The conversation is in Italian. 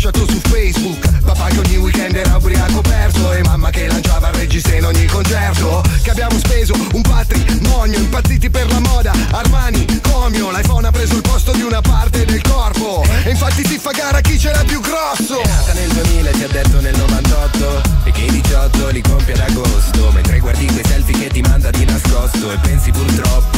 lasciato su Facebook. Papà che ogni weekend era ubriaco perso e mamma che lanciava il regista in ogni concerto. Che abbiamo speso un patrimonio, impazziti per la moda, Armani, Comio. L'iPhone ha preso il posto di una parte del corpo e infatti si fa gara chi ce l'ha più grosso. È nata nel 2000 e ti ha detto nel 98 e che i 18 li compie ad agosto, mentre guardi quei selfie che ti manda di nascosto e pensi purtroppo